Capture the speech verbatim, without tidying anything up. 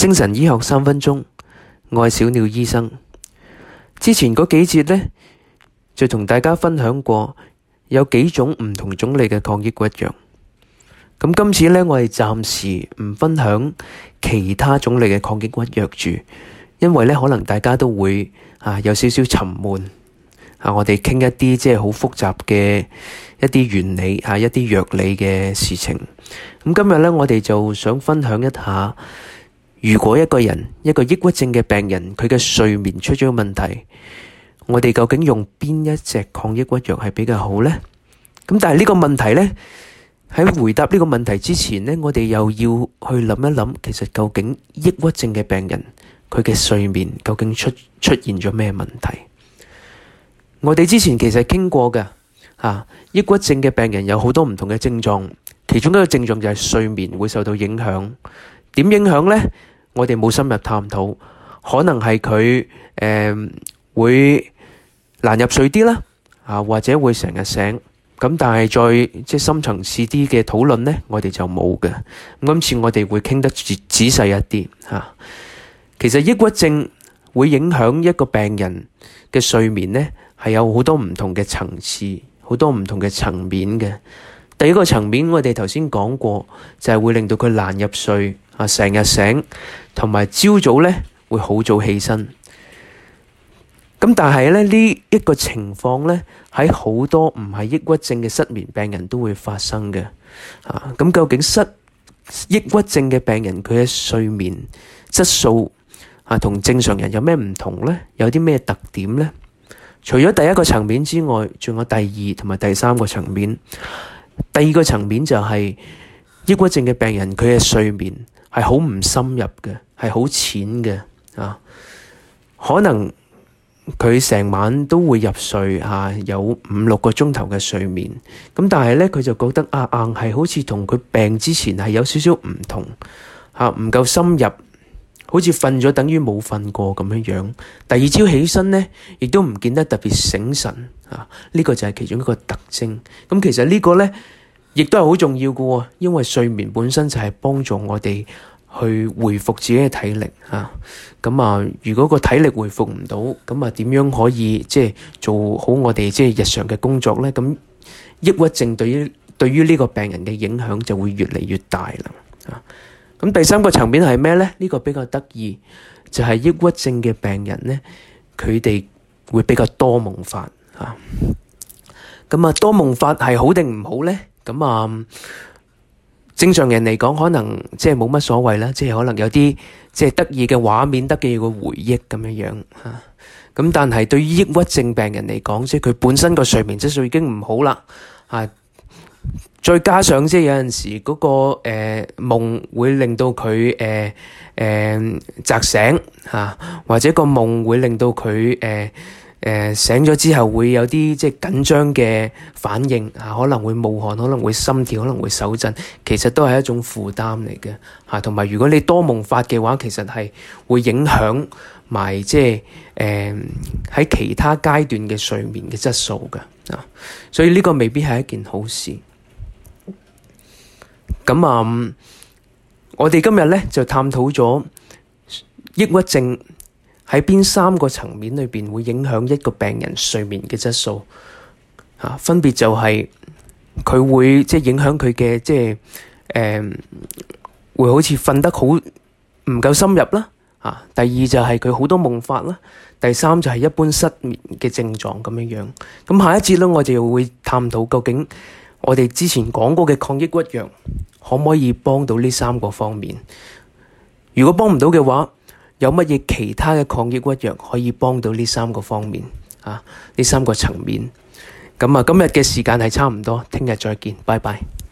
精神醫學三分鐘，我係小鳥醫生。之前嗰幾節呢，就同大家分享過有幾種唔同種類嘅抗抑鬱藥。咁今次呢，我哋暫時唔分享其他種類嘅抗抑鬱藥住，因為呢，可能大家都會啊有少少沉悶啊。我哋傾一啲即係好複雜嘅一啲原理啊，一啲藥理嘅事情。咁今日呢，我哋就想分享一下，如果一個人一個抑鬱症嘅病人，佢嘅睡眠出咗問題，我哋究竟用邊一隻抗抑鬱藥係比較好呢？咁但係呢個問題呢，喺回答呢個問題之前呢，我哋又要去諗一諗，其實究竟抑鬱症嘅病人佢嘅睡眠究竟出出現咗咩問題？我哋之前其實傾過嘅啊，抑鬱症嘅病人有好多唔同嘅症狀，其中一個症狀就係睡眠會受到影響。點影響呢？我哋冇深入探討，可能係佢誒會難入睡啲啦，啊或者會成日醒。咁但係再即係深層次啲嘅討論呢，我哋就冇嘅。咁今次我哋會傾得仔仔細一啲嚇。其實抑鬱症會影響一個病人嘅睡眠呢，係有好多唔同嘅層次，好多唔同嘅層面嘅。第一個層面我哋頭先講過，就係會令到佢難入睡啊，成日醒，同埋朝早呢會好早起身。咁但係咧呢一個情況咧，喺好多唔係抑鬱症嘅失眠病人都會發生嘅。啊，咁究竟失抑鬱症嘅病人佢嘅睡眠質素啊同正常人有咩唔同咧？有啲咩特點咧？除咗第一個層面之外，仲有第二同埋第三個層面。第二個層面就係抑鬱症嘅病人佢嘅睡眠係好唔深入嘅，係好淺嘅啊，可能佢成晚都會入睡啊，有五六個鐘頭嘅睡眠。咁但係咧，佢就覺得啊，硬係好似同佢病之前係有少少唔同嚇，唔夠深入，好似瞓咗等於冇瞓過咁樣樣。第二朝起身咧，亦都唔見得特別醒神啊。呢個就係其中一個特徵。咁其實呢個咧，亦都係好重要嘅喎，因為睡眠本身就係幫助我哋去恢復自己嘅體力嚇。咁啊，如果個體力恢復唔到，咁啊點樣可以即係做好我哋即係日常嘅工作咧？咁抑鬱症對於對於呢個病人嘅影響就會越嚟越大啦。啊，咁第三個層面係咩咧？呢個比較得意，就係抑鬱症嘅病人咧，佢哋會比較多夢法嚇。咁啊，多夢法係好定唔好咧？咁啊，正常人嚟講，可能即係冇乜所謂啦，即係可能有啲即係得意嘅畫面，得意嘅回憶咁樣樣嚇。咁但係對於抑鬱症病人嚟講，即係佢本身個睡眠質素已經唔好啦嚇，再加上即係有陣時嗰個誒夢會令到佢誒誒扎醒嚇，或者個夢會令到佢誒誒、呃、醒咗之後會有啲即係緊張嘅反應啊，可能會冒汗，可能會心跳，可能會手震，其實都係一種負擔嚟嘅嚇。同埋如果你多夢法嘅話，其實係會影響埋即係誒喺其他階段嘅睡眠嘅質素嘅啊，所以呢個未必係一件好事。咁啊、嗯，我哋今日咧就探討咗抑鬱症喺邊三個層面裏邊會影響一個病人睡眠嘅質素啊，分別就係佢會即係影響佢嘅即係誒、呃、會好似瞓得好唔夠深入啦啊。第二就係佢好多夢法啦。第三就係一般失眠嘅症狀咁樣樣。咁下一節咧，我哋會探討究竟我哋之前講過嘅抗抑鬱藥可唔可以幫到呢三個方面？如果幫唔到嘅話，有乜嘢其他嘅抗抑鬱藥可以幫到呢三個方面啊？呢三個層面。咁啊，今日嘅時間係差唔多，聽日再見，拜拜。